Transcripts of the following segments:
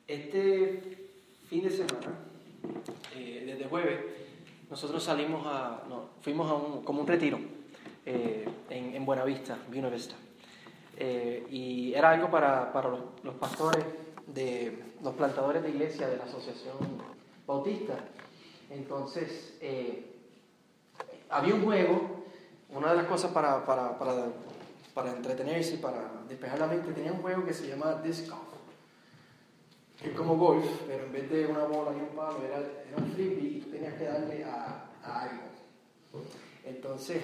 Este fin de semana, desde jueves, nosotros fuimos a como un retiro en Buenavista, Buenavista. Y era algo para los pastores, los plantadores de iglesia de la Asociación Bautista. Entonces, había un juego, una de las cosas para entretenerse y para despejar la mente, tenía un juego que se llamaba Disc Golf. Es como golf, pero en vez de una bola y un palo, era un frisbee y tú tenías que darle a algo. Entonces,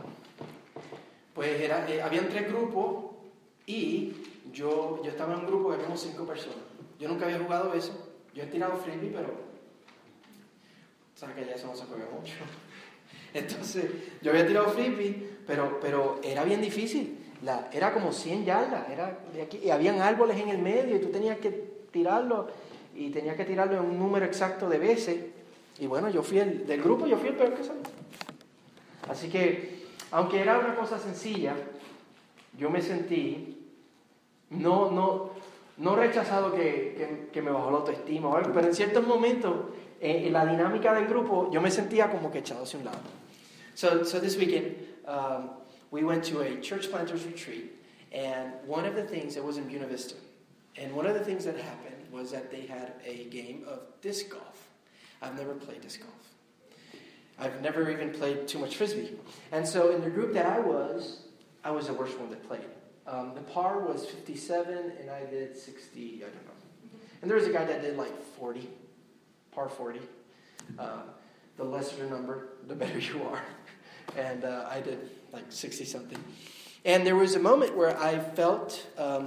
pues habían 3 grupos y yo estaba en un grupo que éramos 5 personas. Yo nunca había jugado eso. Yo he tirado frisbee, pero sabes que ya eso no se juega mucho. Entonces, yo había tirado frisbee, pero era bien difícil. Era como 100 yardas. Y habían árboles en el medio y tú tenías que tirarlo y tenías que tirarlo en un número exacto de veces. Y bueno, del grupo yo fui el peor que salió. Así que, aunque era una cosa sencilla, yo me sentí no rechazado que me bajó la autoestima o algo, pero en ciertos momentos, en la dinámica del grupo, yo me sentía como que echado hacia un lado. So this weekend, we went to a church planters retreat, and one of the things, it was in Buena Vista, and one of the things that happened was that they had a game of disc golf. I've never played disc golf. I've never even played too much frisbee. And so in the group that I was the worst one that played. The par was 57, and I did 60, I don't know. And there was a guy that did like 40, par 40. The lesser the number, the better you are. And I did like 60-something. And there was a moment where I felt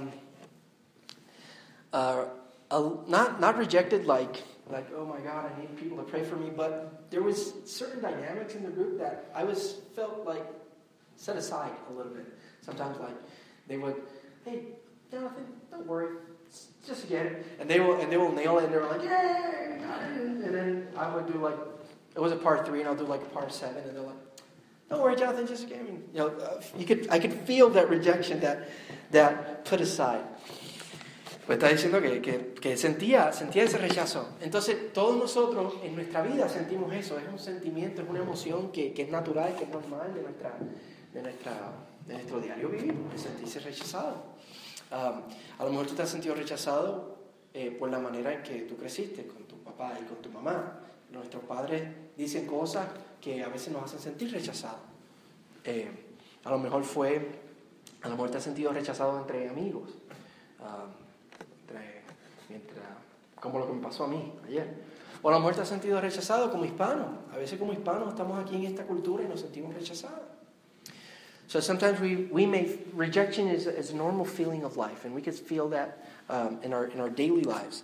not rejected like, oh my God, I need people to pray for me, but there was certain dynamics in the group that I felt like set aside a little bit. Sometimes like they would, hey, Jonathan, don't worry, just get it. And they will nail it, and they were like, yay, got it. And then I would do like, it was a par 3, and I'll do like a par 7, and they're like, don't worry, Jonathan, just get it. You know, I could feel that rejection, that put aside. Pues está diciendo que sentía ese rechazo. Entonces, todos nosotros en nuestra vida sentimos eso. Es un sentimiento, es una emoción que es natural, que es normal de nuestro diario vivir, de sentirse rechazado. A lo mejor tú te has sentido rechazado por la manera en que tú creciste con tu papá y con tu mamá. Nuestros padres dicen cosas que a veces nos hacen sentir rechazados. A lo mejor te has sentido rechazado entre amigos. Como lo que me pasó a mí ayer. O a lo mejor te has sentido rechazado como hispano. A veces como hispanos estamos aquí en esta cultura y nos sentimos rechazados. So sometimes rejection is a normal feeling of life, and we could feel that in our daily lives.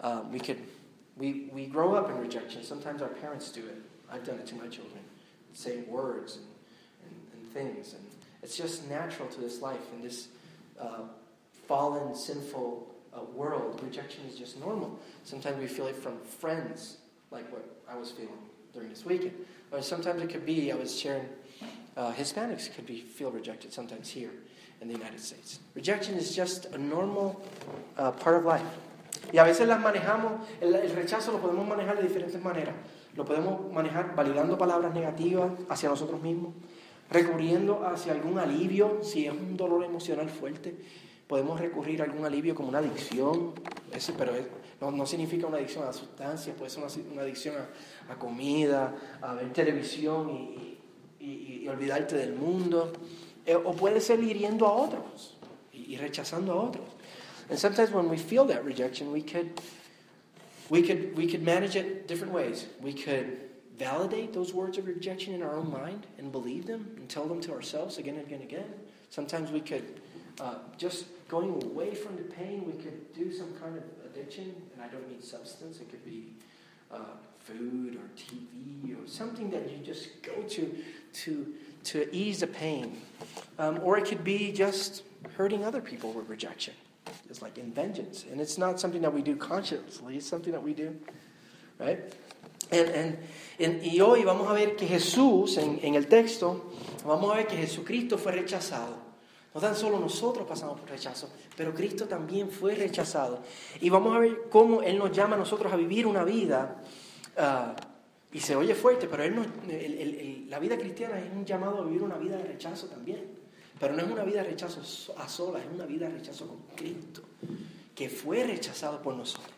We grow up in rejection. Sometimes our parents do it. I've done it to my children, saying words and things, and it's just natural to this life in this fallen, sinful world. Rejection is just normal. Sometimes we feel it from friends, like what I was feeling during this weekend. Or sometimes it could be, I was sharing, Hispanics could feel rejected sometimes here in the United States. Rejection is just a normal part of life. Y a veces las manejamos, el rechazo lo podemos manejar de diferentes maneras. Lo podemos manejar validando palabras negativas hacia nosotros mismos, recurriendo hacia algún alivio, si es un dolor emocional fuerte. Podemos recurrir a algún alivio como una adicción, pero no significa una adicción a sustancias, puede ser una adicción a comida, a ver televisión y olvidarte del mundo, o puede ser hiriendo a otros y rechazando a otros. And sometimes when we feel that rejection, we could manage it different ways. We could validate those words of rejection in our own mind and believe them and tell them to ourselves again and again and again. Sometimes we could just going away from the pain, we could do some kind of addiction, and I don't mean substance. It could be food or TV or something that you just go to ease the pain. Or it could be just hurting other people with rejection. It's like in vengeance. And it's not something that we do consciously. It's something that we do, right? Y hoy vamos a ver que Jesús, en el texto, vamos a ver que Jesucristo fue rechazado. No tan solo nosotros pasamos por rechazo, pero Cristo también fue rechazado. Y vamos a ver cómo Él nos llama a nosotros a vivir una vida, y se oye fuerte, pero la vida cristiana es un llamado a vivir una vida de rechazo también. Pero no es una vida de rechazo a solas, es una vida de rechazo con Cristo, que fue rechazado por nosotros.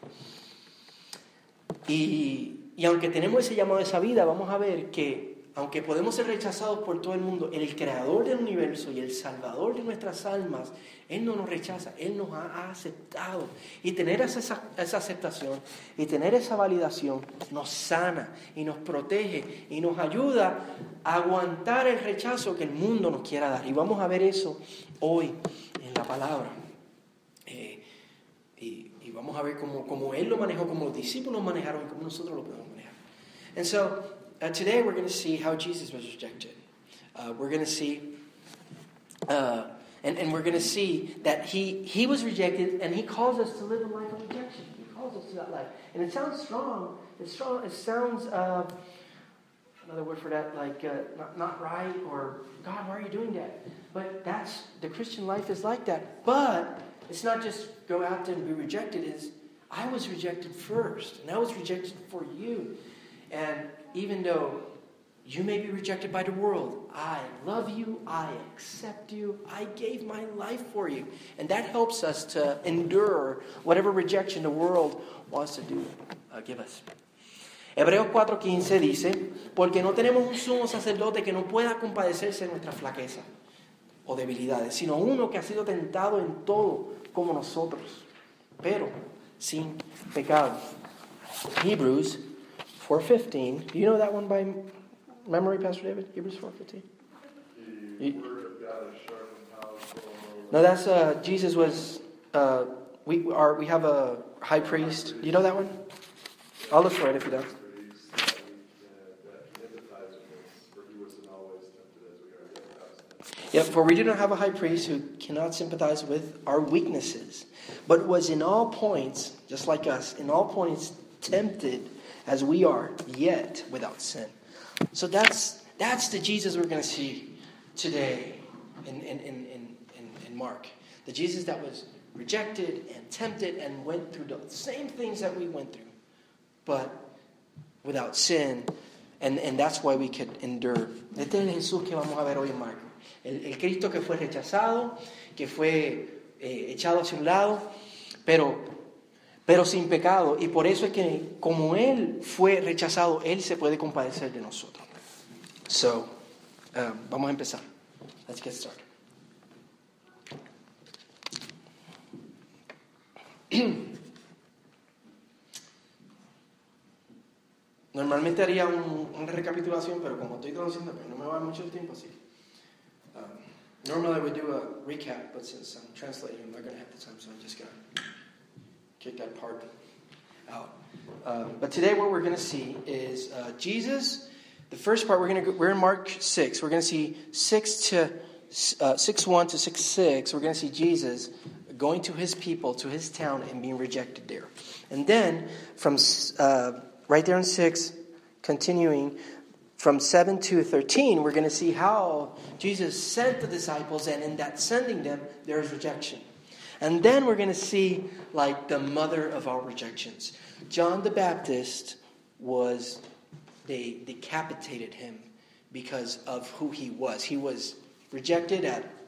Y aunque tenemos ese llamado a esa vida, vamos a ver que aunque podemos ser rechazados por todo el mundo, el creador del universo y el salvador de nuestras almas, Él no nos rechaza, Él nos ha aceptado. Y tener esa aceptación y tener esa validación nos sana y nos protege y nos ayuda a aguantar el rechazo que el mundo nos quiera dar. Y vamos a ver eso hoy en la palabra. Y vamos a ver cómo Él lo manejó, cómo los discípulos manejaron y cómo nosotros lo podemos manejar. And so, today we're going to see how Jesus was rejected. We're going to see, and we're going to see that he was rejected, and He calls us to live a life of rejection. He calls us to that life. And it sounds strong. It sounds, another word for that, like not right, or God, why are you doing that? But the Christian life is like that. But it's not just go out there and be rejected. It's, I was rejected first, and I was rejected for you. And even though you may be rejected by the world, I love you, I accept you, I gave my life for you. And that helps us to endure whatever rejection the world wants to give us. Hebreos 4:15 dice, porque no tenemos un sumo sacerdote que no pueda compadecerse de nuestra flaqueza o debilidades, sino uno que ha sido tentado en todo como nosotros, pero sin pecado. Hebrews 4:15. Do you know that one by memory, Pastor David? Hebrews 4:15. The word of God is sharp and powerful. No, that's Jesus was. We have a high priest. Do you know that one? I'll look for it if you don't. Yep, for we do not have a high priest who cannot sympathize with our weaknesses, but was in all points, just like us, in all points tempted as we are, yet without sin. So that's the Jesus we're going to see today in Mark. The Jesus that was rejected and tempted and went through the same things that we went through, but without sin. And that's why we could endure. Este es el Jesús que vamos a ver hoy en Marco. El Cristo que fue rechazado, que fue echado hacia un lado, pero sin pecado. Y por eso es que como Él fue rechazado, Él se puede compadecer de nosotros. So, vamos a empezar. Let's get started. Normalmente haría una recapitulación, pero como estoy traduciendo, pues no me va a dar mucho tiempo así. Normally I would do a recap, but since I'm translating, I'm not going to have the time, so I'm just going to kick that part out. But today what we're going to see is Jesus. The first part, we're in Mark 6. We're going to see 6:1 to 6:6. We're going to see Jesus going to His people, to His town, and being rejected there. And then from right there in 6, continuing from 7 to 13, we're going to see how Jesus sent the disciples, and in that sending them, there is rejection. And then we're going to see like the mother of all rejections. John the Baptist they decapitated him because of who he was. He was rejected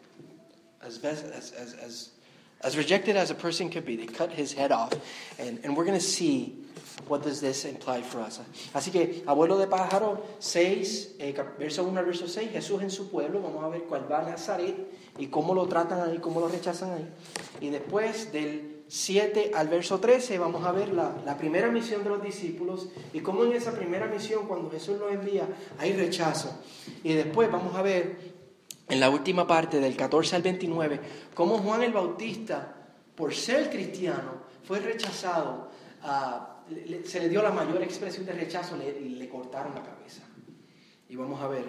as rejected as a person could be. They cut his head off. And we're going to see what does this imply for us. Así que, abuelo de pájaro, 6, verso 1 al verso 6, Jesús en su pueblo. Vamos a ver cuál va a Nazaret y cómo lo tratan ahí, cómo lo rechazan ahí. Y después del 7 al verso 13 vamos a ver la primera misión de los discípulos y cómo en esa primera misión, cuando Jesús los envía, hay rechazo. Y después vamos a ver en la última parte del 14 al 29 cómo Juan el Bautista, por ser cristiano, fue rechazado. Se le dio la mayor expresión de rechazo, le cortaron la cabeza. Y vamos a ver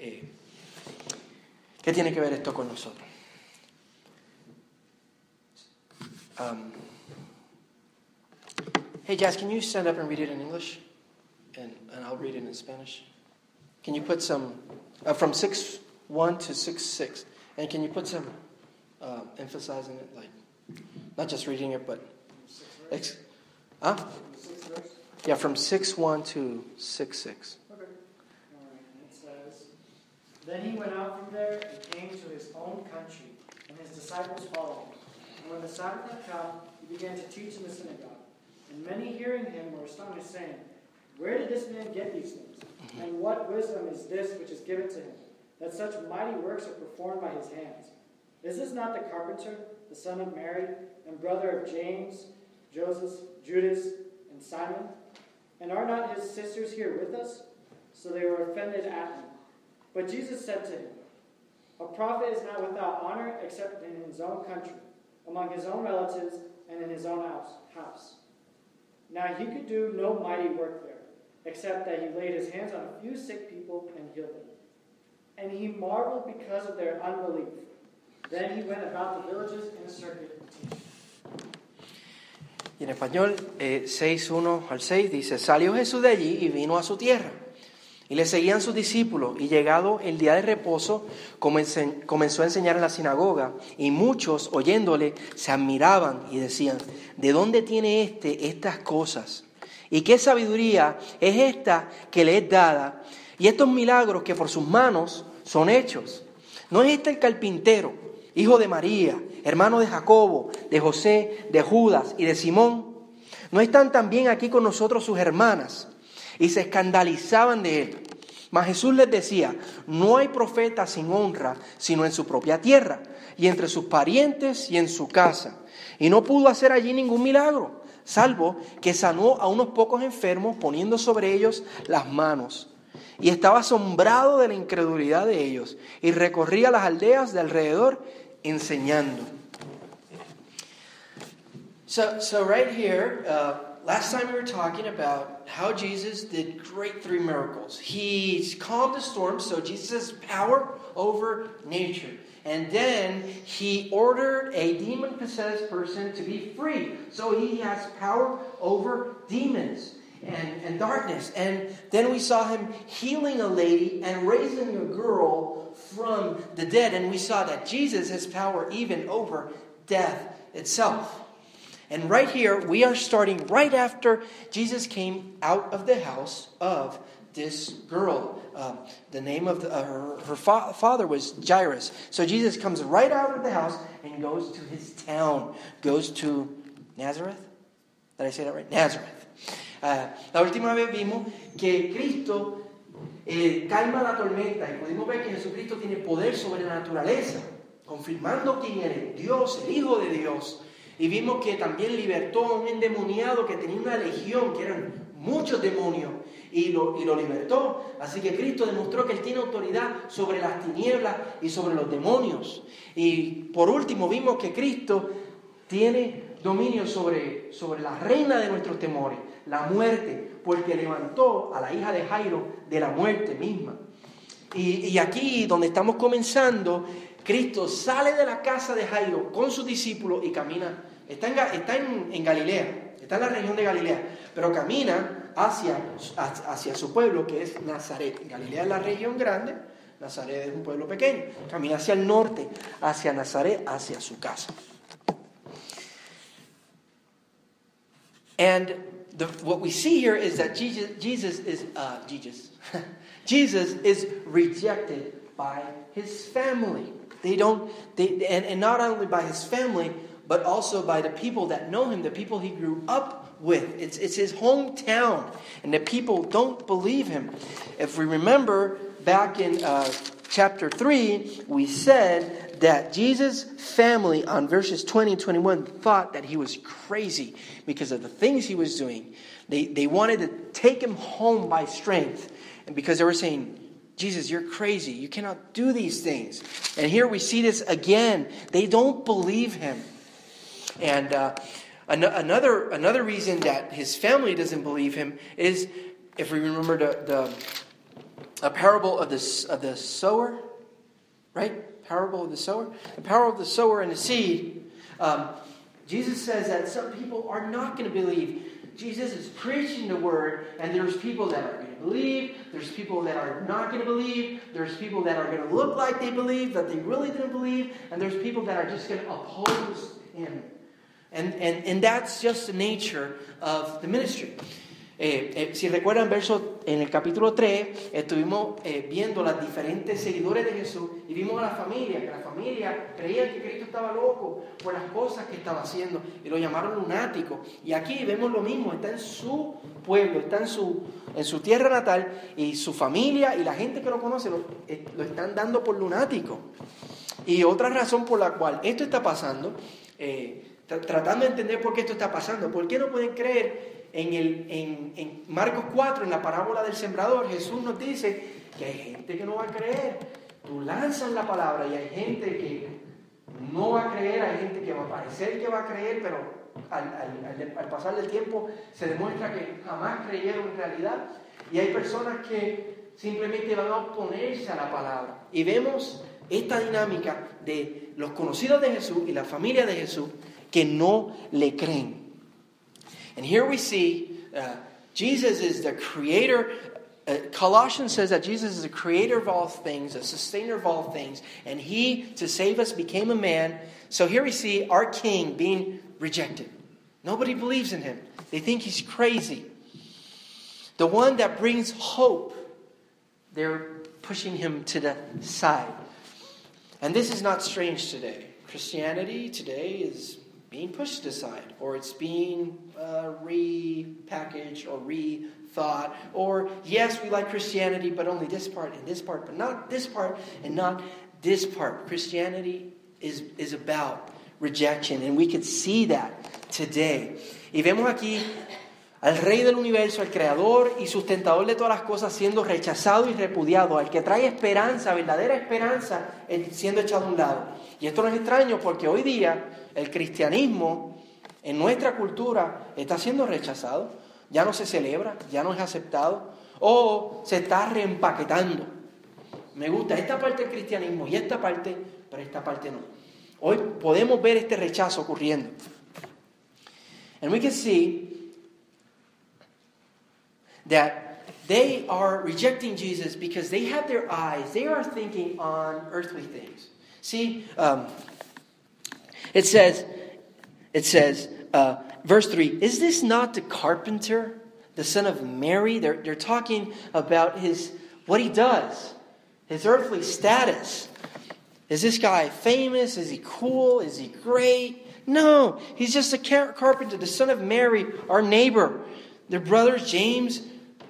qué tiene que ver esto con nosotros. Hey Jazz, can you stand up and read it in English? And I'll read it in Spanish. Can you put some, from 6:1 to 6:6. And can you put some emphasizing it, like not just reading it, but yeah, from 6:1 to 6:6. Okay. All right. And it says, "Then he went out from there and came to his own country, and his disciples followed him. And when the Sabbath had come, he began to teach in the synagogue. And many hearing him were astonished, saying, 'Where did this man get these things? And what wisdom is this which is given to him, that such mighty works are performed by his hands? Is this not the carpenter, the son of Mary, and brother of James, Joseph, Judas, and Simon? And are not his sisters here with us?' So they were offended at him. But Jesus said to him, 'A prophet is not without honor except in his own country, among his own relatives, and in his own house.' Now he could do no mighty work there, except that he laid his hands on a few sick people and healed them. And he marveled because of their unbelief. Then he went about the villages in a circuit teaching." Y en español, 6:1 al 6 dice, salió Jesús de allí y vino a su tierra. Y le seguían sus discípulos. Y llegado el día de reposo, comenzó a enseñar en la sinagoga. Y muchos, oyéndole, se admiraban y decían, ¿de dónde tiene estas cosas? ¿Y qué sabiduría es esta que le es dada? Y estos milagros que por sus manos son hechos. ¿No es este el carpintero, hijo de María, hermano de Jacobo, de José, de Judas y de Simón? ¿No están también aquí con nosotros sus hermanas? Y se escandalizaban de él. Mas Jesús les decía, no hay profeta sin honra, sino en su propia tierra, y entre sus parientes y en su casa. Y no pudo hacer allí ningún milagro, salvo que sanó a unos pocos enfermos poniendo sobre ellos las manos. Y estaba asombrado de la incredulidad de ellos, y recorría las aldeas de alrededor enseñando. So right here, last time we were talking about how Jesus did great 3 miracles. He calmed the storm, so Jesus has power over nature. And then he ordered a demon-possessed person to be free. So he has power over demons and darkness. And then we saw him healing a lady and raising a girl from the dead. And we saw that Jesus has power even over death itself. And right here, we are starting right after Jesus came out of the house of this girl. The name of her father was Jairus. So Jesus comes right out of the house and goes to his town. Goes to Nazareth? Did I say that right? Nazareth. La última vez vimos que Cristo calma la tormenta y pudimos ver que Jesucristo tiene poder sobre la naturaleza, confirmando quién es Dios, el Hijo de Dios. Y vimos que también libertó a un endemoniado que tenía una legión, que eran muchos demonios, y lo libertó. Así que Cristo demostró que Él tiene autoridad sobre las tinieblas y sobre los demonios. Y por último vimos que Cristo tiene dominio sobre la reina de nuestros temores, la muerte, porque levantó a la hija de Jairo de la muerte misma. Y aquí donde estamos comenzando, Cristo sale de la casa de Jairo con sus discípulos y camina. Está en Galilea, está en la región de Galilea, pero camina hacia su pueblo, que es Nazaret. Galilea es la región grande, Nazaret es un pueblo pequeño. Camina hacia el norte, hacia Nazaret, hacia su casa. And what we see here is that Jesus is rejected by his family. And not only by his family, but also by the people that know him, the people he grew up with. It's his hometown, and the people don't believe him. If we remember back in chapter 3, we said that Jesus' family on verses 20 and 21 thought that he was crazy because of the things he was doing. They wanted to take him home by strength, and because they were saying, Jesus, you're crazy. You cannot do these things. And here we see this again. They don't believe him. And another reason that his family doesn't believe him is, if we remember the parable of the sower, right? Parable of the sower. The parable of the sower and the seed. Jesus says that some people are not going to believe. Jesus is preaching the word, and there's people that are going to believe, there's people that are not going to believe, there's people that are going to look like they believe, that they really didn't believe, and there's people that are just going to oppose him. And that's just the nature of the ministry. Si recuerdan en el capítulo 3, estuvimos viendo las diferentes seguidores de Jesús y vimos a la familia, que la familia creía que Cristo estaba loco por las cosas que estaba haciendo y lo llamaron lunático. Y aquí vemos lo mismo, está en su pueblo, está en su tierra natal, y su familia y la gente que lo conoce lo están dando por lunático. Y otra razón por la cual esto está pasando, tratando de entender por qué esto está pasando, ¿por qué no pueden creer? En Marcos 4, en la parábola del sembrador, Jesús nos dice que hay gente que no va a creer. Tú lanzas la palabra y hay gente que no va a creer, hay gente que va a parecer que va a creer, pero al pasar del tiempo se demuestra que jamás creyeron en realidad. Y hay personas que simplemente van a oponerse a la palabra. Y vemos esta dinámica de los conocidos de Jesús y la familia de Jesús que no le creen. And here we see Jesus is the creator. Colossians says that Jesus is the creator of all things, a sustainer of all things. And he, to save us, became a man. So here we see our king being rejected. Nobody believes in him. They think he's crazy. The one that brings hope, they're pushing him to the side. And this is not strange today. Christianity today is being pushed aside, or it's being repackaged or rethought, or yes, we like Christianity, but only this part and this part, but not this part and not this part. Christianity is about rejection, and we could see that today. Y vemos aquí al Rey del Universo, al Creador y sustentador de todas las cosas, siendo rechazado y repudiado, al que trae esperanza, verdadera esperanza, siendo echado a un lado. Y esto no es extraño porque hoy día el cristianismo en nuestra cultura está siendo rechazado, ya no se celebra, ya no es aceptado, o se está reempaquetando. Me gusta esta parte del cristianismo y esta parte, pero esta parte no. Hoy podemos ver este rechazo ocurriendo. And we can see that they are rejecting Jesus because they have their eyes, they are thinking on earthly things. See, it says, verse 3, is this not the carpenter, the son of Mary? They're talking about what he does, his earthly status. Is this guy famous? Is he cool? Is he great? No, he's just a carpenter, the son of Mary, our neighbor. Their brothers, James,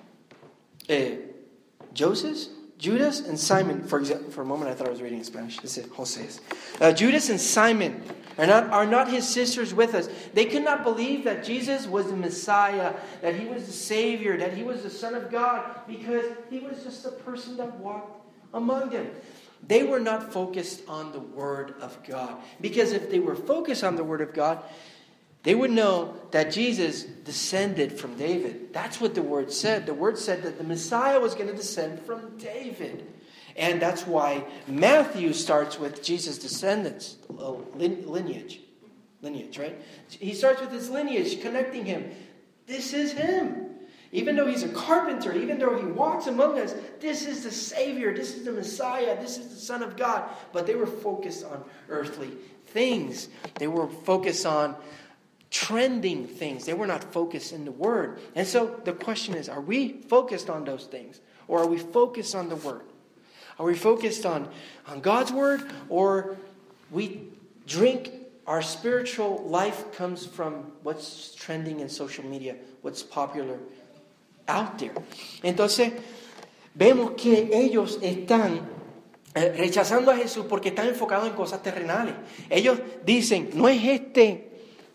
Joseph, Judas, and Simon. For example, for a moment I thought I was reading in Spanish. This is Jose. Judas and Simon are not his sisters with us. They could not believe that Jesus was the Messiah, that he was the Savior, that he was the Son of God, because he was just a person that walked among them. They were not focused on the Word of God. Because if they were focused on the Word of God, they would know that Jesus descended from David. That's what the Word said. The Word said that the Messiah was going to descend from David. And that's why Matthew starts with Jesus' descendants, lineage, right? He starts with his lineage, connecting him. This is him. Even though he's a carpenter, even though he walks among us, this is the Savior, this is the Messiah, this is the Son of God. But they were focused on earthly things. They were focused on trending things. They were not focused in the Word. And so the question is, are we focused on those things? Or are we focused on the Word? Are we focused on God's Word? Or we drink, our spiritual life comes from what's trending in social media, what's popular out there. Entonces, vemos que ellos están rechazando a Jesús porque están enfocados en cosas terrenales. Ellos dicen, no es este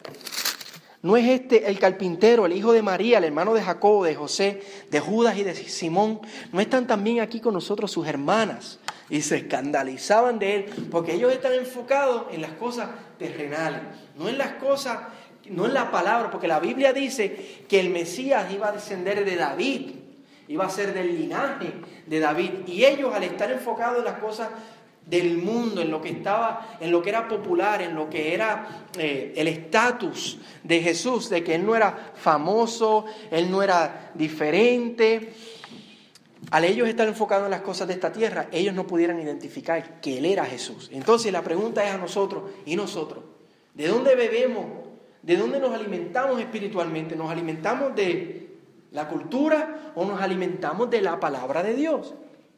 el carpintero, el hijo de María, el hermano de Jacobo, de José, de Judas y de Simón. No están también aquí con nosotros sus hermanas. Y se escandalizaban de él porque ellos están enfocados en las cosas terrenales, no en las cosas, no en la palabra, porque la Biblia dice que el Mesías iba a descender de David, iba a ser del linaje de David. Y ellos, al estar enfocados en las cosas del mundo, en lo que estaba, en lo que era popular, en lo que era el estatus de Jesús, de que Él no era famoso, Él no era diferente. Al ellos estar enfocados en las cosas de esta tierra, ellos no pudieran identificar que Él era Jesús. Entonces la pregunta es a nosotros, ¿y nosotros? ¿De dónde bebemos? ¿De dónde nos alimentamos espiritualmente? ¿Nos alimentamos de la cultura o nos alimentamos de la palabra de Dios?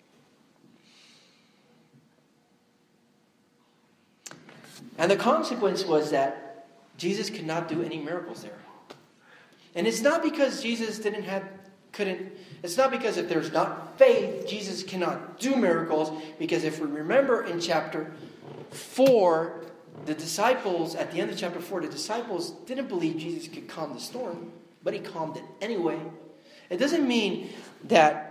And the consequence was that Jesus could not do any miracles there. And it's not because Jesus it's not because if there's not faith, Jesus cannot do miracles. Because if we remember in chapter 4, the disciples, at the end of chapter 4, the disciples didn't believe Jesus could calm the storm, but He calmed it anyway. It doesn't mean that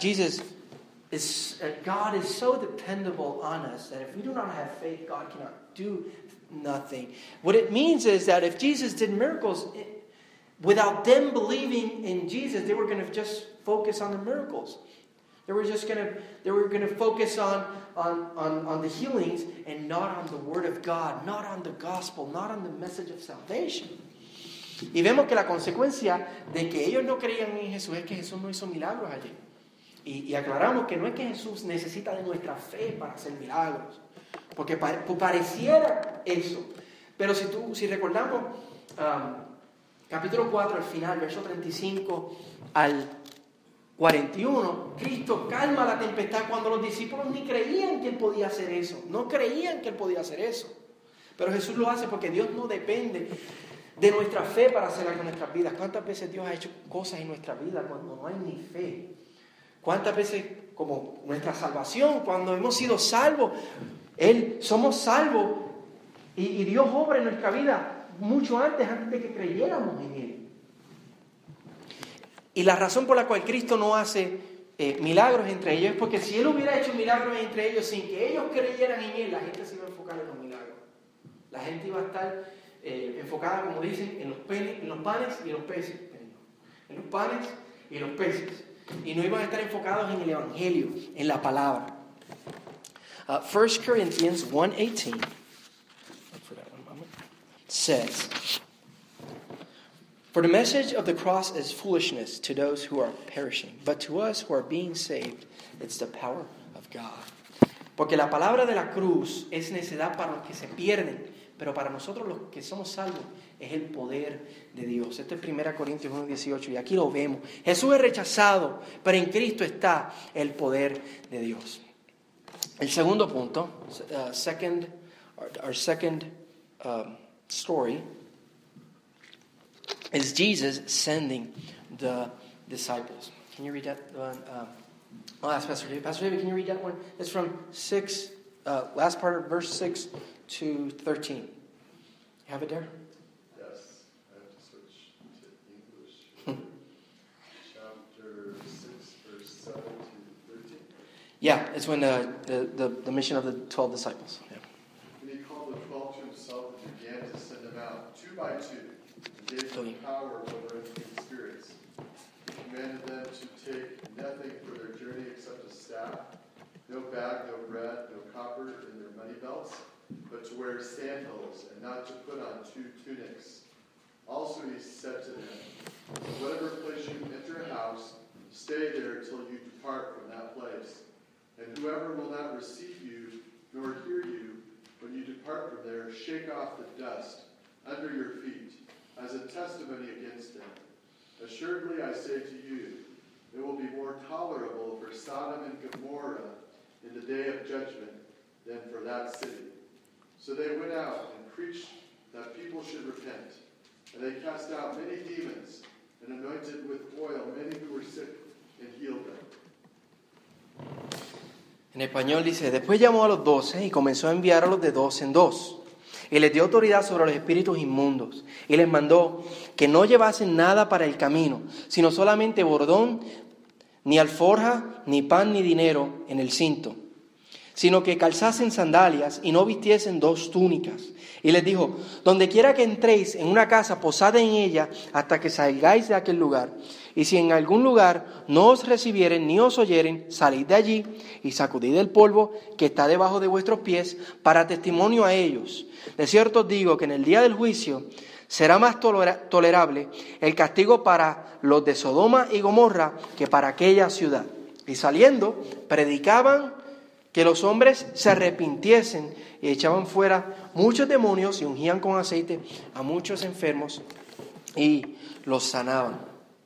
God is so dependable on us that if we do not have faith, God cannot do nothing. What it means is that if Jesus did miracles, without them believing in Jesus, they were going to just focus on the miracles. They were going to focus on the healings and not on the Word of God, not on the gospel, not on the message of salvation. Y vemos que la consecuencia de que ellos no creían en Jesús es que Jesús no hizo milagros allí. Y aclaramos que no es que Jesús necesita de nuestra fe para hacer milagros, porque pareciera eso. Pero si recordamos capítulo 4 al final, verso 35 al 41, Cristo calma la tempestad cuando los discípulos ni creían que Él podía hacer eso. No creían que Él podía hacer eso. Pero Jesús lo hace porque Dios no depende de nuestra fe para hacer algo en nuestras vidas. ¿Cuántas veces Dios ha hecho cosas en nuestra vida cuando no hay ni fe? ¿Cuántas veces, como nuestra salvación, cuando hemos sido salvos, somos salvos y Dios obra en nuestra vida mucho antes de que creyéramos en Él? Y la razón por la cual Cristo no hace milagros entre ellos es porque si Él hubiera hecho milagros entre ellos sin que ellos creyeran en Él, la gente se iba a enfocar en los milagros. La gente iba a estar enfocada, como dicen, en los panes y los peces. En los panes y los peces. Y no iban a estar enfocados en el Evangelio, en la palabra. 1 Corinthians 1:18 says, "For the message of the cross is foolishness to those who are perishing, but to us who are being saved, it's the power of God." Porque la palabra de la cruz es necedad para los que se pierden, pero para nosotros los que somos salvos es el poder de Dios. Esto es 1 Corintios 1:18 y aquí lo vemos. Jesús es rechazado, pero en Cristo está el poder de Dios. El segundo punto, our second story, is Jesus sending the disciples. Can you read that one? I'll ask Pastor David. Pastor David, can you read that one? It's from last part of verse 6 to 13. You have it there? Yes, I have to switch to English. Chapter 6, verse 7 to 13. Yeah, it's when the mission of the 12 disciples. Yeah. And He called the 12 to Himself and began to send them out 2 by 2, and gave them power over unclean spirits. He commanded them to take nothing for their journey except a staff, no bag, no bread, no copper in their money belts, but to wear sandals and not to put on 2 tunics. Also He said to them, "Whatever place you enter a house, stay there till you depart from that place. And whoever will not receive you nor hear you, when you depart from there, shake off the dust under your feet as a testimony against them. Assuredly I say to you, it will be more tolerable for Sodom and Gomorrah in the day of judgment than for that city." So they went out and preached that people should repent. And they cast out many demons and anointed with oil many who were sick and healed them. En español dice, después llamó a los 12 y comenzó a enviarlos de 2 en 2. Y les dio autoridad sobre los espíritus inmundos. Y les mandó que no llevasen nada para el camino, sino solamente bordón, ni alforja, ni pan, ni dinero en el cinto, sino que calzasen sandalias y no vistiesen 2 túnicas. Y les dijo: donde quiera que entréis en una casa, posad en ella hasta que salgáis de aquel lugar. Y si en algún lugar no os recibieren ni os oyeren, salid de allí y sacudid el polvo que está debajo de vuestros pies para testimonio a ellos. De cierto os digo que en el día del juicio será más tolerable el castigo para los de Sodoma y Gomorra que para aquella ciudad. Y saliendo, predicaban que los hombres se arrepintiesen y echaban fuera muchos demonios y ungían con aceite a muchos enfermos y los sanaban.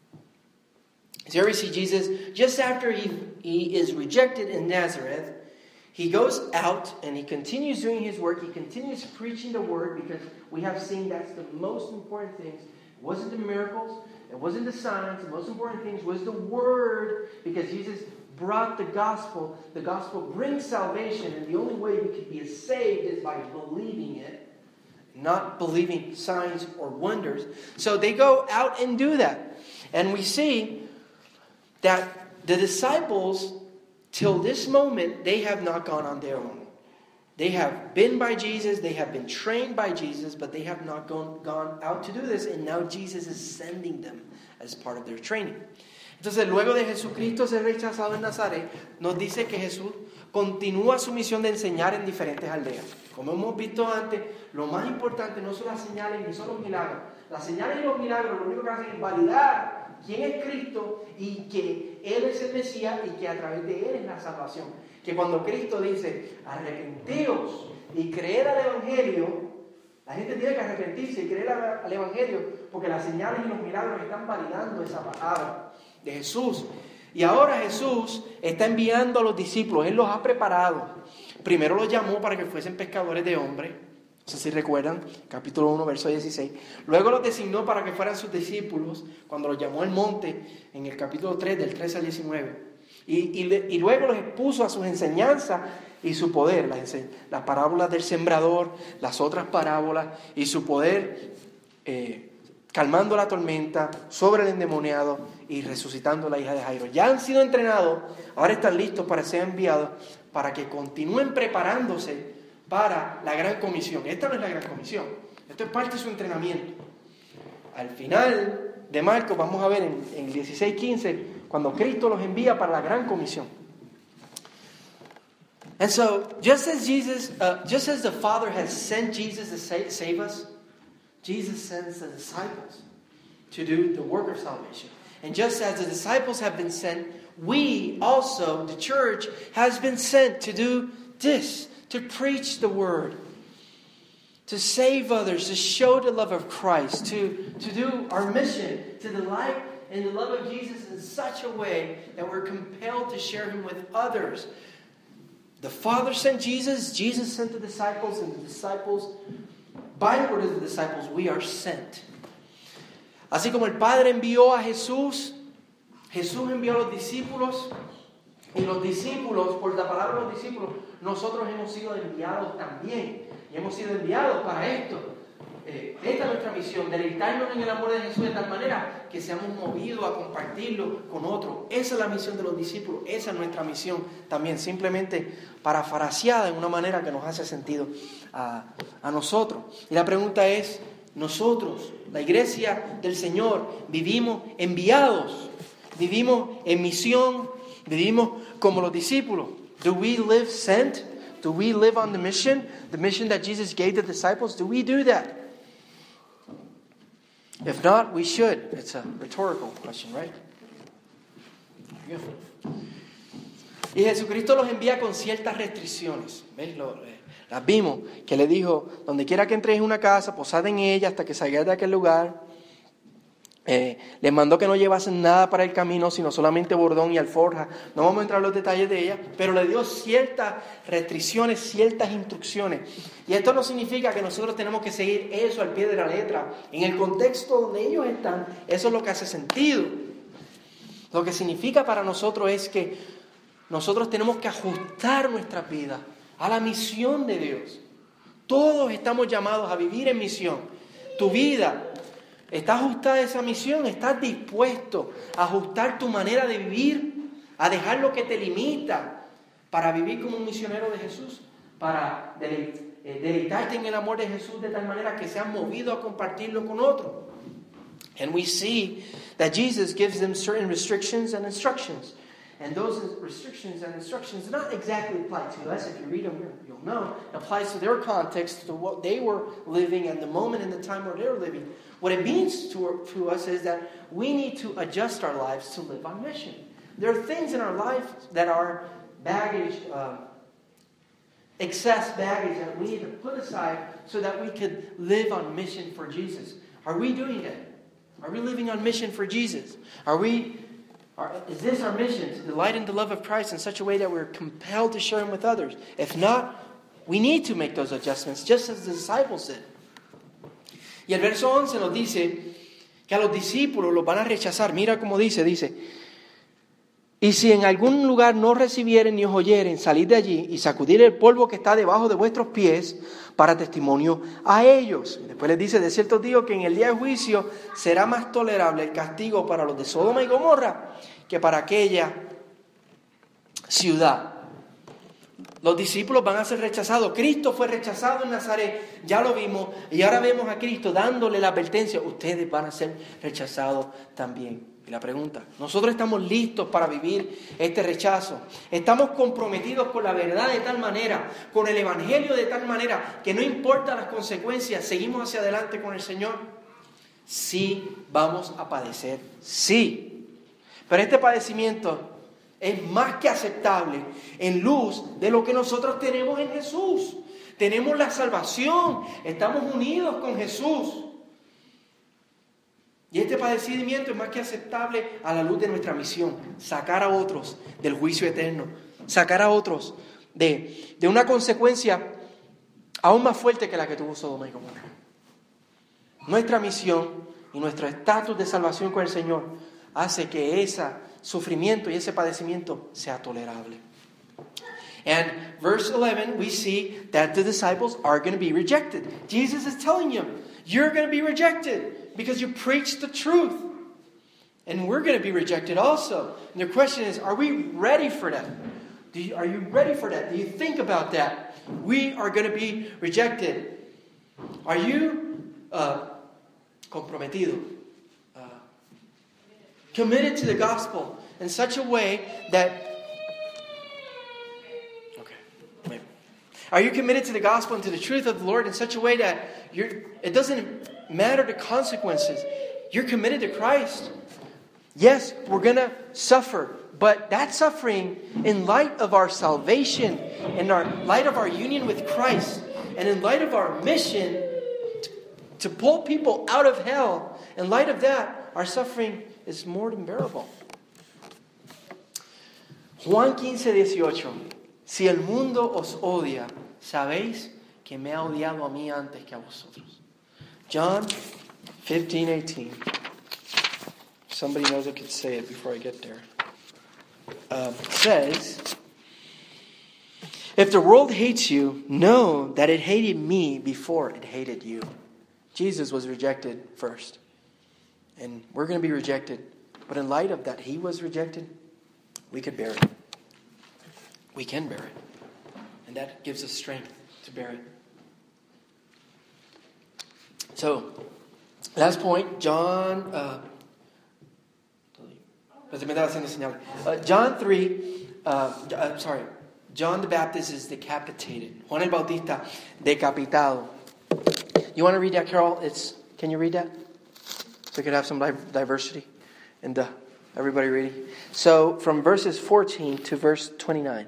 So here we see Jesus, just after he is rejected in Nazareth, he goes out and he continues doing his work. He continues preaching the word, because we have seen that's the most important things. It wasn't the miracles, it wasn't the signs. The most important things was the word, because Jesus brought the gospel. The gospel brings salvation, and the only way we could be saved is by believing it, not believing signs or wonders. So they go out and do that. And we see that the disciples, till this moment, they have not gone on their own. They have been by Jesus, they have been trained by Jesus, but they have not gone out to do this, and now Jesus is sending them as part of their training. Entonces, luego de Jesucristo ser rechazado en Nazaret, nos dice que Jesús continúa su misión de enseñar en diferentes aldeas. Como hemos visto antes, lo más importante no son las señales ni son los milagros. Las señales y los milagros lo único que hacen es validar quién es Cristo y que Él es el Mesías y que a través de Él es la salvación. Que cuando Cristo dice, arrepentíos y creed al Evangelio, la gente tiene que arrepentirse y creer al Evangelio, porque las señales y los milagros están validando esa palabra de Jesús. Y ahora Jesús está enviando a los discípulos. Él los ha preparado. Primero los llamó para que fuesen pescadores de hombres. No sé si recuerdan, capítulo 1, verso 16. Luego los designó para que fueran sus discípulos, cuando los llamó al monte, en el capítulo 3, del 13 al 19. Y luego los expuso a sus enseñanzas y su poder. Las parábolas del sembrador, las otras parábolas y su poder, calmando la tormenta, sobre el endemoniado y resucitando a la hija de Jairo. Ya han sido entrenados, ahora están listos para ser enviados, para que continúen preparándose para la gran comisión. Esta no es la gran comisión, esto es parte de su entrenamiento. Al final de Marcos vamos a ver en 16:15, cuando Cristo los envía para la gran comisión. And so, just as the Father has sent Jesus to save us, Jesus sends the disciples to do the work of salvation. And just as the disciples have been sent, we also, the church, has been sent to do this, to preach the word, to save others, to show the love of Christ, to do our mission, to delight in the love of Jesus in such a way that we're compelled to share Him with others. The Father sent Jesus, Jesus sent the disciples, and the disciples, by the word of the disciples, we are sent. Así como el Padre envió a Jesús, Jesús envió a los discípulos, y los discípulos, por la palabra de los discípulos, nosotros hemos sido enviados también. Y hemos sido enviados para esto. Esta es nuestra misión, deleitarnos en el amor de Jesús de tal manera que seamos movidos a compartirlo con otros. Esa es la misión de los discípulos, esa es nuestra misión también, simplemente parafraseada en una manera que nos hace sentido a nosotros. Y la pregunta es, nosotros, la iglesia del Señor, vivimos enviados, vivimos en misión, vivimos como los discípulos. Do we live sent? Do we live on the mission that Jesus gave the disciples? Do we do that? If not, we should. It's a rhetorical question, right? Y Jesucristo los envía con ciertas restricciones. ¿Ves? Las vimos, que le dijo, donde quiera que entréis en una casa, posad en ella hasta que salgáis de aquel lugar. Les mandó que no llevasen nada para el camino, sino solamente bordón y alforja. No vamos a entrar en los detalles de ella, pero le dio ciertas restricciones, ciertas instrucciones. Y esto no significa que nosotros tenemos que seguir eso al pie de la letra. En el contexto donde ellos están, eso es lo que hace sentido. Lo que significa para nosotros es que nosotros tenemos que ajustar nuestra vida a la misión de Dios. Todos estamos llamados a vivir en misión. Tu vida ¿está ajustada a esa misión? ¿Estás dispuesto a ajustar tu manera de vivir? ¿A dejar lo que te limita para vivir como un misionero de Jesús? Para deleitarte en el amor de Jesús de tal manera que seas movido a compartirlo con otros. And we see that Jesus gives them certain restrictions and instructions. And those restrictions and instructions not exactly apply to us. If you read them, you'll know. It applies to their context, to what they were living and the moment and the time where they were living. What it means to us is that we need to adjust our lives to live on mission. There are things in our life that are baggage, excess baggage that we need to put aside so that we could live on mission for Jesus. Are we doing that? Are we living on mission for Jesus? Is this our mission, to delight in the love of Christ in such a way that we're compelled to share Him with others? If not, we need to make those adjustments, just as the disciples did. Y el verso 11 nos dice que a los discípulos los van a rechazar. Mira cómo dice, y si en algún lugar no recibieren ni os oyeren, salid de allí y sacudid el polvo que está debajo de vuestros pies para testimonio a ellos. Y después les dice, de cierto digo que en el día de juicio será más tolerable el castigo para los de Sodoma y Gomorra que para aquella ciudad. Los discípulos van a ser rechazados. Cristo fue rechazado en Nazaret, ya lo vimos, y ahora vemos a Cristo dándole la advertencia, ustedes van a ser rechazados también. Y la pregunta, ¿nosotros estamos listos para vivir este rechazo? ¿Estamos comprometidos con la verdad de tal manera, con el Evangelio de tal manera, que no importa las consecuencias, seguimos hacia adelante con el Señor? Sí, vamos a padecer, sí. Pero este padecimiento es más que aceptable en luz de lo que nosotros tenemos en Jesús. Tenemos la salvación, estamos unidos con Jesús. Y este padecimiento es más que aceptable a la luz de nuestra misión, sacar a otros del juicio eterno, sacar a otros de una consecuencia aún más fuerte que la que tuvo Sodoma y Gomorra. Nuestra misión y nuestro estatus de salvación con el Señor hace que ese sufrimiento y ese padecimiento sea tolerable. And verse 11, we see that the disciples are going to be rejected. Jesus is telling them, you're going to be rejected because you preach the truth. And we're going to be rejected also. And the question is, are we ready for that? Are you ready for that? Do you think about that? We are going to be rejected. Are you comprometido? Committed to the gospel in such a way that... Are you committed to the gospel and to the truth of the Lord in such a way that it doesn't matter the consequences? You're committed to Christ. Yes, we're going to suffer, but that suffering in light of our salvation, in light of our union with Christ, and in light of our mission to pull people out of hell, in light of that, our suffering is more than bearable. Juan 15:18. Si el mundo os odia, sabéis que me ha odiado a mí antes que a vosotros. John 15:18. Somebody knows I could say it before I get there. Says, if the world hates you, know that it hated me before it hated you. Jesus was rejected first. And we're going to be rejected. But in light of that, He was rejected, we could bear it. We can bear it. And that gives us strength to bear it. So, last point, John 3, John the Baptist is decapitated. Juan el Bautista, decapitado. You want to read that, Carol? Can you read that? So we could have some diversity. And everybody reading. So, from verses 14 to verse 29.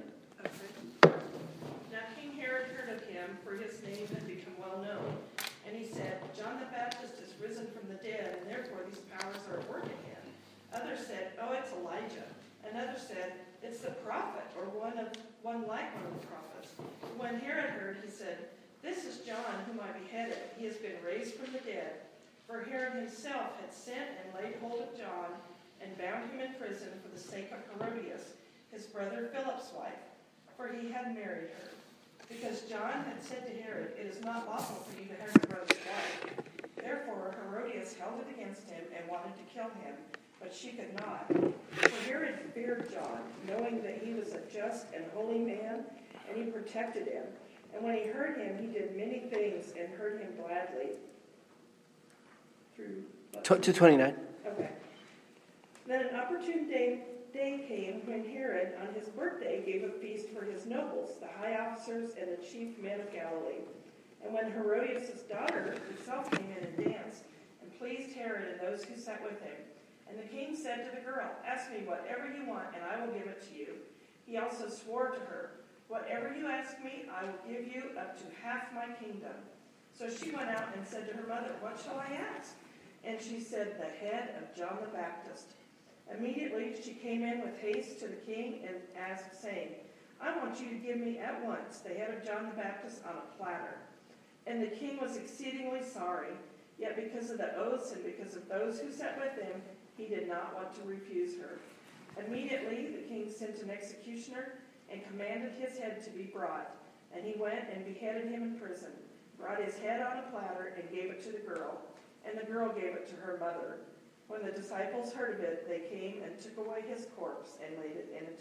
One like one of the prophets. When Herod heard, he said, "This is John whom I beheaded. He has been raised from the dead." For Herod himself had sent and laid hold of John and bound him in prison for the sake of Herodias, his brother Philip's wife, for he had married her. Because John had said to Herod, "It is not lawful for you to have your brother's wife." Therefore Herodias held it against him and wanted to kill him, but she could not. For Herod feared John, knowing that he was a just and holy man, and he protected him, And when he heard him, he did many things and heard him gladly. Through 229. Okay. Then an opportune day came when Herod, on his birthday, gave a feast for his nobles, the high officers, and the chief men of Galilee. And when Herodias' daughter herself came in and danced, and pleased Herod and those who sat with him, and the king said to the girl, "Ask me whatever you want, and I will give it to you." He also swore to her, "Whatever you ask me, I will give you up to half my kingdom." So she went out and said to her mother, "What shall I ask?" And she said, "The head of John the Baptist." Immediately she came in with haste to the king and asked, saying, "I want you to give me at once the head of John the Baptist on a platter." And the king was exceedingly sorry, yet because of the oaths and because of those who sat with him, he did not want to refuse her. Immediately the king sent an executioner and commanded his head to be brought. And he went and beheaded him in prison, brought his head on a platter, and gave it to the girl. And the girl gave it to her mother. When the disciples heard of it, they came and took away his corpse and laid it in a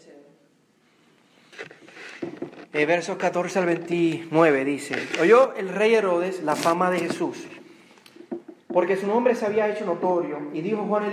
tomb. Versos 14 al 29 dice: Oyó el rey Herodes la fama de Jesús, porque su nombre se había hecho notorio, y dijo, Juan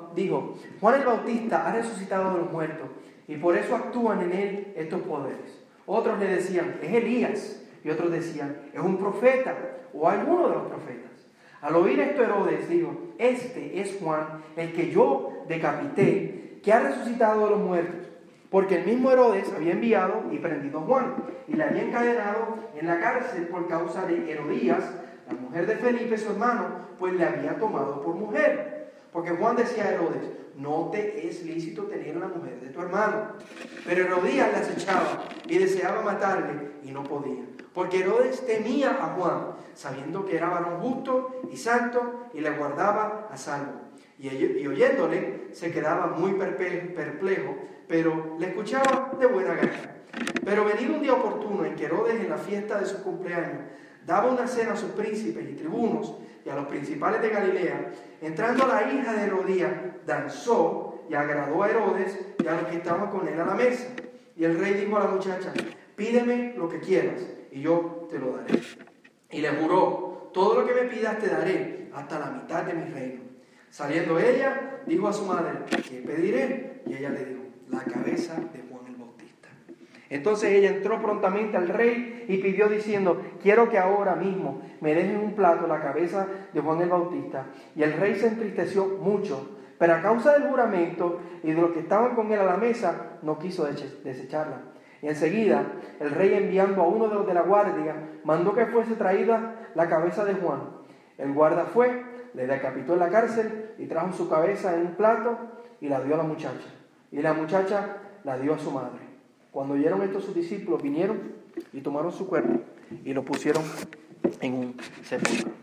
el Bautista ha resucitado de los muertos, y por eso actúan en él estos poderes. Otros le decían, es Elías, y otros decían, es un profeta, o alguno de los profetas. Al oír esto Herodes dijo, este es Juan, el que yo decapité, que ha resucitado de los muertos. Porque el mismo Herodes había enviado y prendido a Juan, y le había encadenado en la cárcel por causa de Herodías, la mujer de Felipe, su hermano, pues le había tomado por mujer. Porque Juan decía a Herodes, no te es lícito tener una mujer de tu hermano. Pero Herodías le acechaba y deseaba matarle, y no podía. Porque Herodes temía a Juan, sabiendo que era varón justo y santo, y le guardaba a salvo. Y oyéndole, se quedaba muy perplejo, pero le escuchaba de buena gana. Pero venido un día oportuno en que Herodes, en la fiesta de su cumpleaños, daba una cena a sus príncipes y tribunos y a los principales de Galilea, entrando la hija de Herodías, danzó y agradó a Herodes y a los que estaban con él a la mesa. Y el rey dijo a la muchacha, pídeme lo que quieras y yo te lo daré. Y le juró, todo lo que me pidas te daré, hasta la mitad de mi reino. Saliendo ella, dijo a su madre, ¿qué pediré? Y ella le dijo, la cabeza de Juan el Bautista. Entonces ella entró prontamente al rey y pidió diciendo, quiero que ahora mismo me dejen un plato la cabeza de Juan el Bautista. Y el rey se entristeció mucho, pero a causa del juramento y de los que estaban con él a la mesa, no quiso desecharla. Y enseguida, el rey, enviando a uno de los de la guardia, mandó que fuese traída la cabeza de Juan. El guarda fue, le decapitó en la cárcel y trajo su cabeza en un plato y la dio a la muchacha. Y la muchacha la dio a su madre. Cuando oyeron esto, sus discípulos vinieron y tomaron su cuerpo y lo pusieron en un sepulcro.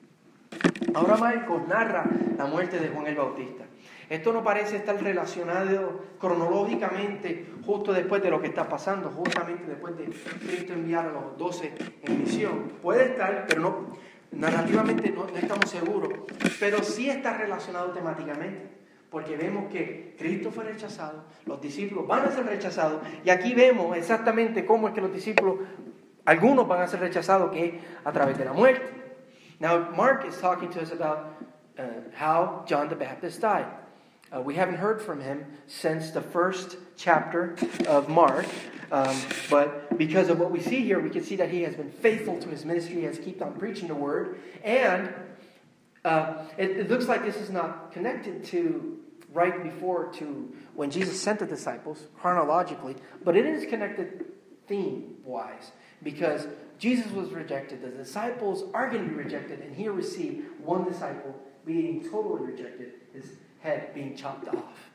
Ahora Marcos narra la muerte de Juan el Bautista. Esto no parece estar relacionado cronológicamente justo después de lo que está pasando, justamente después de Cristo enviar a los 12 en misión. Puede estar, pero no, narrativamente no estamos seguros, pero sí está relacionado temáticamente, porque vemos que Cristo fue rechazado, los discípulos van a ser rechazados, y aquí vemos exactamente cómo es que los discípulos, algunos van a ser rechazados, que es a través de la muerte. Now, Mark is talking to us about how John the Baptist died. We haven't heard from him since the first chapter of Mark, but because of what we see here, we can see that he has been faithful to his ministry, he has kept on preaching the word, and it looks like this is not connected to right before to when Jesus sent the disciples, chronologically, but it is connected theme-wise, because Jesus was rejected, the disciples are going to be rejected, and here we see one disciple being totally rejected, his head being chopped off.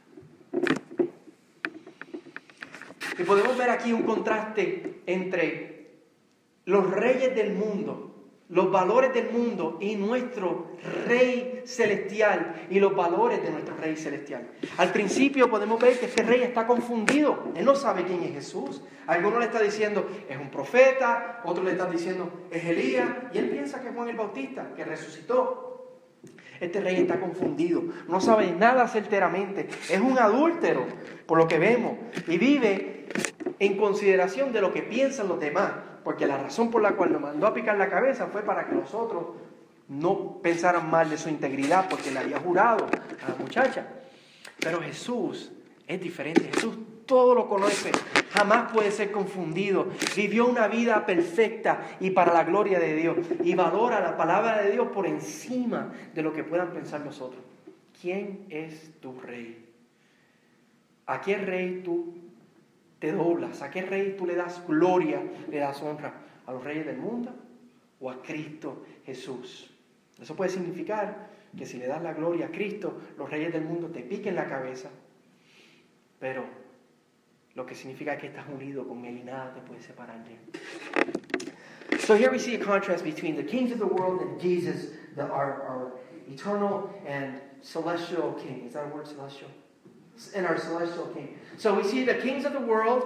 Y podemos ver aquí un contraste entre los reyes del mundo, los valores del mundo y nuestro Rey Celestial y los valores de nuestro Rey Celestial. Al principio podemos ver que este rey está confundido. Él no sabe quién es Jesús. Algunos le están diciendo, es un profeta. Otros le están diciendo, es Elías. Y él piensa que es Juan el Bautista, que resucitó. Este rey está confundido. No sabe nada certeramente. Es un adúltero, por lo que vemos. Y vive en consideración de lo que piensan los demás. porque la razón por la cual nos mandó a picar la cabeza fue para que nosotros no pensaran mal de su integridad, porque le había jurado a la muchacha. Pero Jesús es diferente. Jesús todo lo conoce, jamás puede ser confundido. Vivió una vida perfecta y para la gloria de Dios. Y valora la palabra de Dios por encima de lo que puedan pensar nosotros. ¿Quién es tu rey? ¿A qué rey tú te doblas? ¿A qué rey tú le das gloria, le das honra? ¿A los reyes del mundo o a Cristo Jesús? Eso puede significar que si le das la gloria a Cristo, los reyes del mundo te piquen la cabeza. Pero lo que significa que estás unido con Él y nada te puede separar de Él. So here we see a contrast between the kings of the world and Jesus, our eternal and celestial king. Is that a word, celestial? And our celestial king. So we see the kings of the world,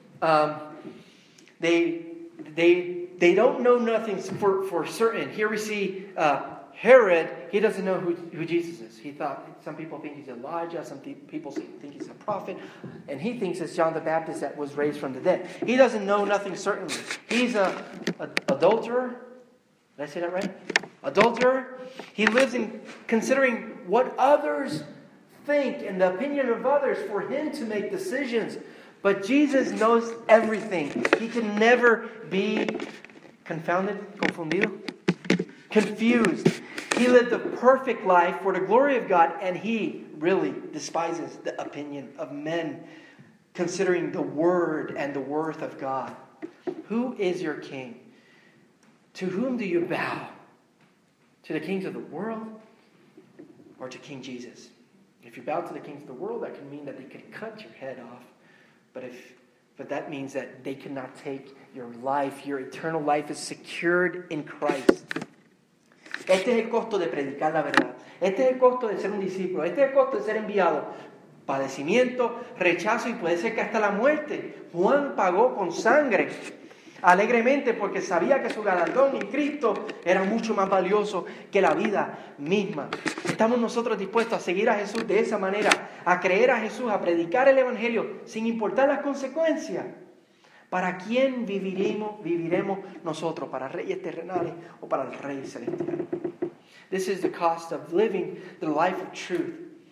they don't know nothing for certain. Here we see Herod, he doesn't know who Jesus is. He thought, some people think he's Elijah, some people think he's a prophet, and he thinks it's John the Baptist that was raised from the dead. He doesn't know nothing certainly. He's an adulterer. Did I say that right? Adulterer. He lives in considering what others think and the opinion of others for him to make decisions. But Jesus knows everything. He can never be confundido, confused. He lived a perfect life for the glory of God, and he really despises the opinion of men, considering the word and the worth of God. Who is your king? To whom do you bow? To the kings of the world or to King Jesus? If you bow to the kings of the world, that can mean that they could cut your head off. But that means that they cannot take your life. Your eternal life is secured in Christ. Este es el costo de predicar la verdad. Este es el costo de ser un discípulo. Este es el costo de ser enviado. Padecimiento, rechazo y puede ser que hasta la muerte. Juan pagó con sangre alegremente porque sabía que su galardón en Cristo era mucho más valioso que la vida misma. Estamos nosotros dispuestos a seguir a Jesús de esa manera, a creer a Jesús, a predicar el Evangelio sin importar las consecuencias. ¿Para quién viviremos nosotros? ¿Para reyes terrenales o para el Rey celestial? This is the cost of living the life of truth.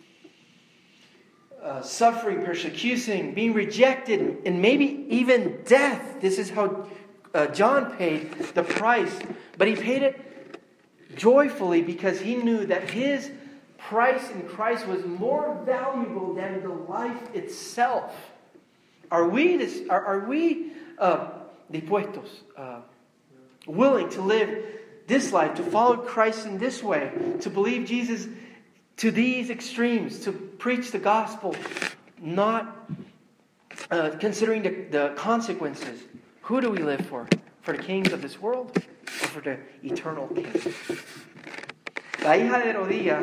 Suffering, persecution, being rejected, and maybe even death. This is how John paid the price. But he paid it joyfully because he knew that his price in Christ was more valuable than the life itself. Are we dispuestos, willing to live this life, to follow Christ in this way, to believe Jesus to these extremes, to preach the gospel, not considering the consequences? Who do we live for? For the kings of this world or for the eternal king? La hija de Herodías,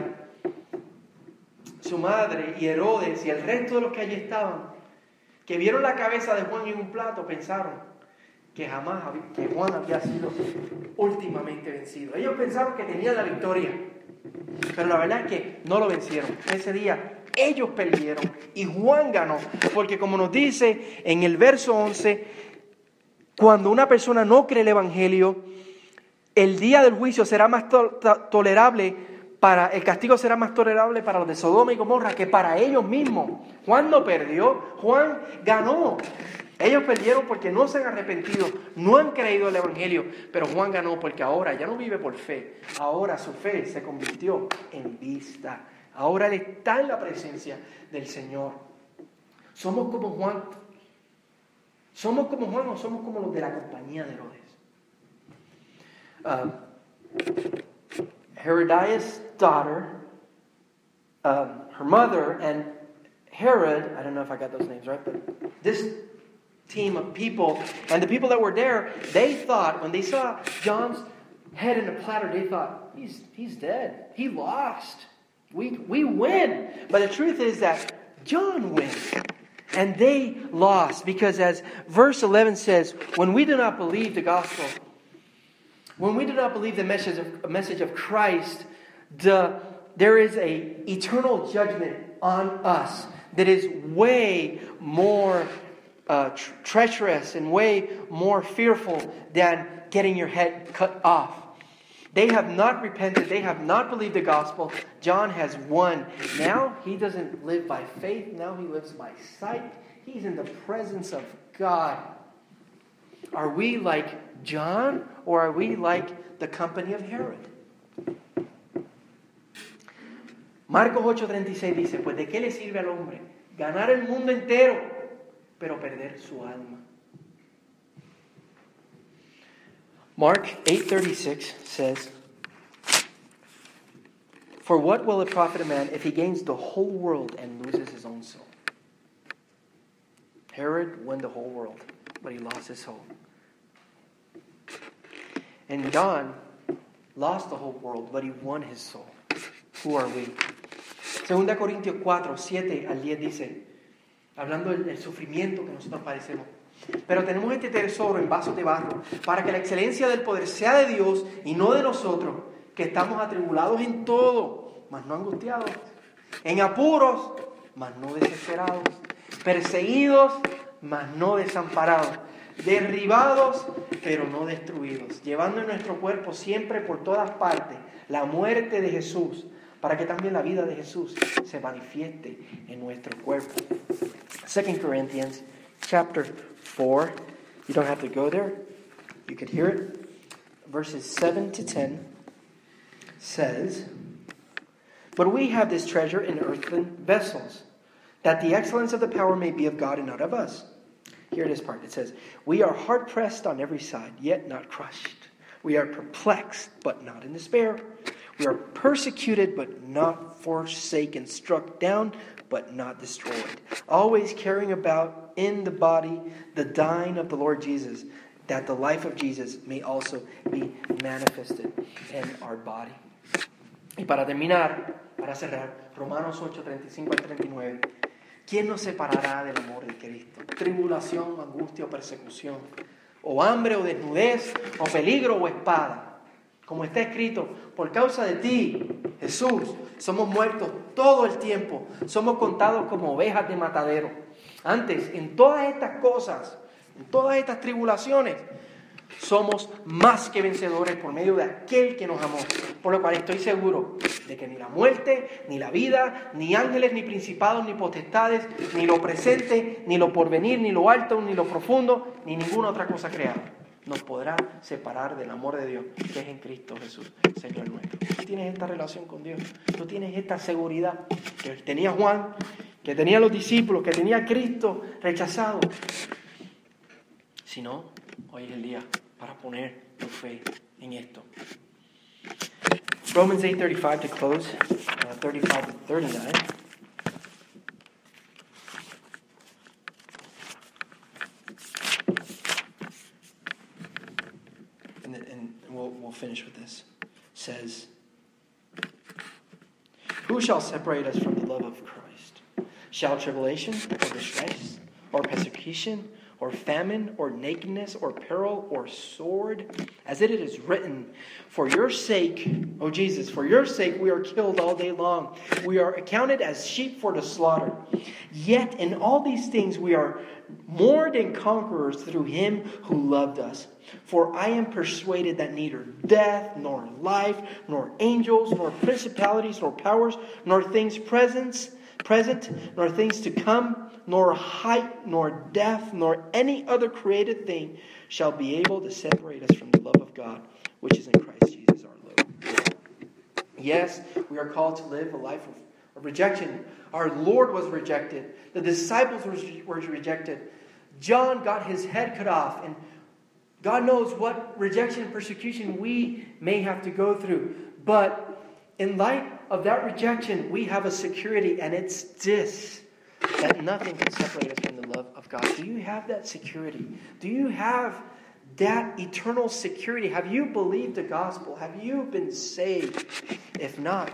su madre y Herodes y el resto de los que allí estaban, que vieron la cabeza de Juan en un plato, pensaron que Juan había sido últimamente vencido. Ellos pensaron que tenían la victoria, pero la verdad es que no lo vencieron. Ese día ellos perdieron y Juan ganó, porque como nos dice en el verso 11, cuando una persona no cree el Evangelio, el día del juicio será más tolerable. El castigo será más tolerable para los de Sodoma y Gomorra que para ellos mismos. Juan no perdió, Juan ganó. Ellos perdieron porque no se han arrepentido, no han creído el Evangelio, pero Juan ganó porque ahora ya no vive por fe. Ahora su fe se convirtió en vista. Ahora él está en la presencia del Señor. ¿Somos como Juan? ¿Somos como Juan o somos como los de la compañía de Herodes? Herodias' daughter, her mother, and Herod, I don't know if I got those names right, but this team of people, and the people that were there, they thought, when they saw John's head in a platter, they thought, he's dead. He lost. We win. But the truth is that John wins. And they lost, because as verse 11 says, when we do not believe the gospel, when we do not believe the message of Christ, there is an eternal judgment on us that is way more treacherous and way more fearful than getting your head cut off. They have not repented. They have not believed the gospel. John has won. Now he doesn't live by faith. Now he lives by sight. He's in the presence of God. Are we like John, or are we like the company of Herod? Marcos 8:36 dice, pues ¿de qué le sirve al hombre ganar el mundo entero, pero perder su alma? Mark 8:36 says, for what will it profit a man if he gains the whole world and loses his own soul? Herod won the whole world, but he lost his soul. And John lost the whole world, but he won his soul. Who are we? 2 Corintios 4:7-10 dice, hablando del sufrimiento que nosotros padecemos. Pero tenemos este tesoro en vasos de barro, para que la excelencia del poder sea de Dios y no de nosotros, que estamos atribulados en todo, mas no angustiados, en apuros, mas no desesperados, perseguidos, mas no desamparados, derribados, pero no destruidos, llevando en nuestro cuerpo siempre por todas partes la muerte de Jesús, para que también la vida de Jesús se manifieste en nuestro cuerpo. 2 Corinthians chapter 4. You don't have to go there. You could hear it. Verses 7-10 says, but we have this treasure in earthen vessels, that the excellence of the power may be of God and not of us. Here it is part. It says, we are hard pressed on every side, yet not crushed. We are perplexed, but not in despair. We are persecuted, but not forsaken, struck down, but not destroyed. Always carrying about in the body the dying of the Lord Jesus, that the life of Jesus may also be manifested in our body. Y para terminar, para cerrar, Romanos 8:35-39. ¿Quién nos separará del amor de Cristo? Tribulación, angustia o persecución, o hambre o desnudez, o peligro o espada. Como está escrito, por causa de ti, Jesús, somos muertos todo el tiempo. Somos contados como ovejas de matadero. Antes, en todas estas cosas, en todas estas tribulaciones, somos más que vencedores por medio de aquel que nos amó. Por lo cual estoy seguro de que ni la muerte, ni la vida, ni ángeles, ni principados, ni potestades, ni lo presente, ni lo porvenir, ni lo alto, ni lo profundo, ni ninguna otra cosa creada nos podrá separar del amor de Dios que es en Cristo Jesús, Señor nuestro. Tú tienes esta relación con Dios, tú tienes esta seguridad que tenía Juan, que tenía los discípulos, que tenía Cristo rechazado. Si no, hoy es el día para poner tu fe en esto. Romans 8:35 to close, 35-39. And we'll finish with this. Says, who shall separate us from the love of Christ? Shall tribulation or distress or persecution or famine or nakedness or peril or sword? As it is written, for your sake, O Jesus, for your sake we are killed all day long. We are accounted as sheep for the slaughter. Yet in all these things we are more than conquerors through him who loved us. For I am persuaded that neither death, nor life, nor angels, nor principalities, nor powers, nor things present, nor things to come, nor height, nor depth, nor any other created thing shall be able to separate us from the love of God, which is in Christ Jesus our Lord. Yes, we are called to live a life of rejection. Our Lord was rejected. The disciples were rejected. John got his head cut off, and God knows what rejection and persecution we may have to go through. But in light of that rejection, we have a security, and it's this, that nothing can separate us from the love of God. Do you have that security? Do you have that eternal security? Have you believed the gospel? Have you been saved? If not,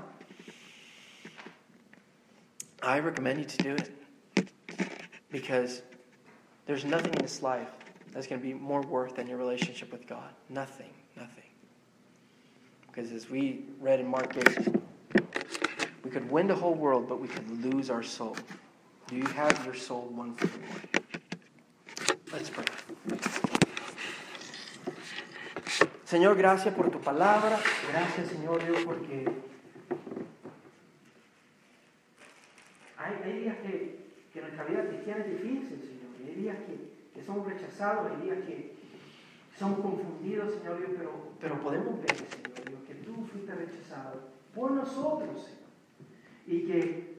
I recommend you to do it. Because there's nothing in this life that's going to be more worth than your relationship with God. Nothing. Because as we read in Mark 8, we could win the whole world, but we could lose our soul. Do you have your soul won for the Lord? Let's pray. Señor, gracias por tu palabra. Gracias, Señor Dios, porque hay días que nuestra vida cristiana es difícil, Señor. Y hay días que somos rechazados, hay días que somos confundidos, Señor Dios, pero podemos ver, Señor Dios, que tú fuiste rechazado por nosotros, Señor. Y que